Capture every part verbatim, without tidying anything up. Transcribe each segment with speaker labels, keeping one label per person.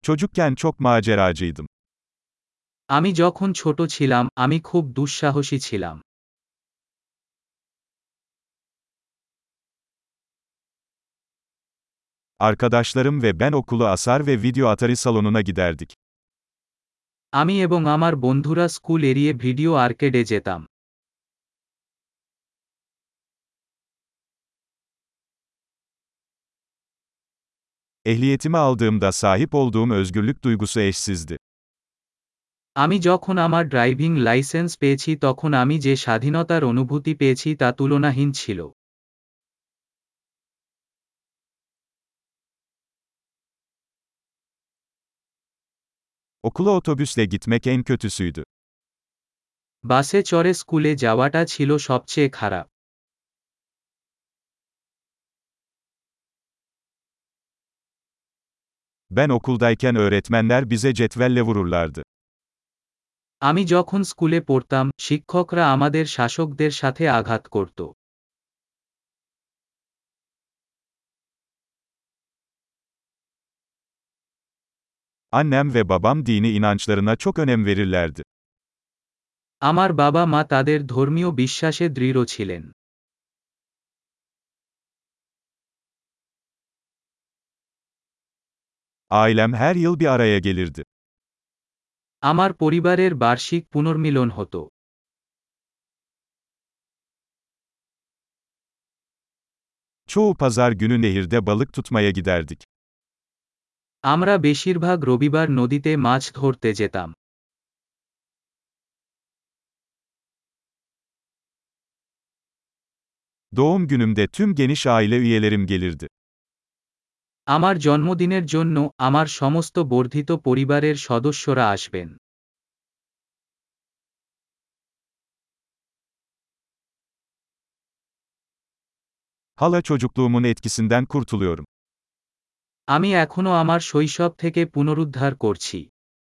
Speaker 1: Çocukken çok maceracıydım.
Speaker 2: আমি যখন ছোট ছিলাম, আমি খুব দুঃসাহসী ছিলাম।
Speaker 1: Arkadaşlarım ve ben okulu asar ve video Atari salonuna giderdik.
Speaker 2: আমি এবং আমার বন্ধুরা স্কুল এড়িয়ে ভিডিও আর্কেডে যেতাম।
Speaker 1: Ehliyetimi aldığımda sahip olduğum özgürlük duygusu eşsizdi.
Speaker 2: আমি যখন আমার ড্রাইভিং লাইসেন্স পেয়েছি তখন আমি যে স্বাধীনতার অনুভূতি পেয়েছি তা তুলনাহীন ছিল।
Speaker 1: Okula otobüsle gitmek en kötüsüydü.
Speaker 2: বাসে চড়ে স্কুলে যাওয়াটা ছিল সবচেয়ে খারাপ।
Speaker 1: Ben okuldayken öğretmenler bize cetvelle vururlardı.
Speaker 2: আমি যখন স্কুলে পড়তাম, শিক্ষকরা আমাদের শাসকদের সাথে আঘাত করত।
Speaker 1: Annem ve babam dini inançlarına çok önem verirlerdi.
Speaker 2: আমার বাবা মা তাদের ধর্মীয় বিশ্বাসে দৃঢ় ছিলেন।
Speaker 1: Ailem her yıl bir araya gelirdi.
Speaker 2: আমার পরিবারের বার্ষিক পুনর্মিলন হতো।
Speaker 1: Çoğu pazar günü nehirde balık tutmaya giderdik.
Speaker 2: আমরা বেশিরভাগ রবিবার নদীতে মাছ ধরতে যেতাম।
Speaker 1: Doğum günümde tüm geniş aile üyelerim gelirdi.
Speaker 2: আমার জন্মদিনের জন্য আমার সমস্ত বর্ধিত পরিবারের সদস্যরা আসবেন।
Speaker 1: Hala çocukluğumun etkisinden kurtuluyorum.
Speaker 2: আমি এখনো আমার শৈশব থেকে পুনরুদ্ধার করছি।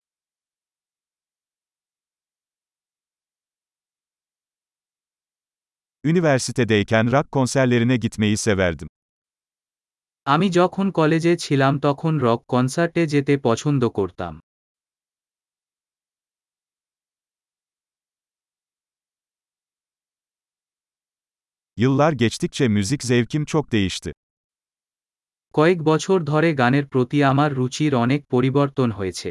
Speaker 1: Üniversitedeyken rock konserlerine gitmeyi severdim.
Speaker 2: আমি যখন কলেজে ছিলাম তখন রক কনসার্টে যেতে পছন্দ করতাম।
Speaker 1: Yıllar geçtikçe müzik zevkim çok değişti.
Speaker 2: কয়েক বছর ধরে গানের প্রতি আমার রুচির অনেক পরিবর্তন হয়েছে।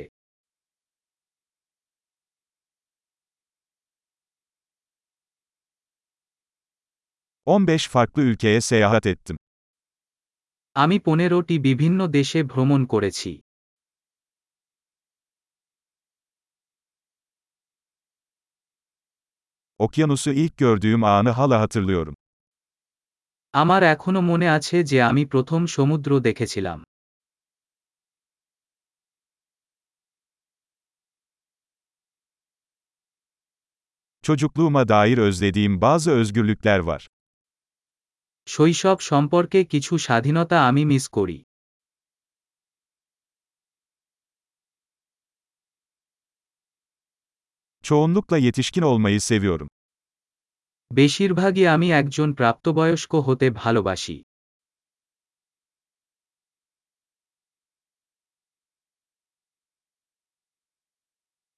Speaker 1: on beş farklı ülkeye seyahat ettim.
Speaker 2: আমি পনেরোটি বিভিন্ন দেশে ভ্রমণ করেছি।
Speaker 1: Okyanusu ilk gördüğüm anı hala hatırlıyorum.
Speaker 2: আমার এখনো মনে আছে যে আমি প্রথম সমুদ্র দেখেছিলাম।
Speaker 1: Çocukluğuma dair özlediğim bazı özgürlükler var.
Speaker 2: শৈশব সম্পর্কে কিছু স্বাধীনতা আমি মিস করি।
Speaker 1: Çoğunlukla yetişkin olmayı seviyorum.
Speaker 2: বেশিরভাগই আমি একজন প্রাপ্তবয়স্ক হতে ভালোবাসি।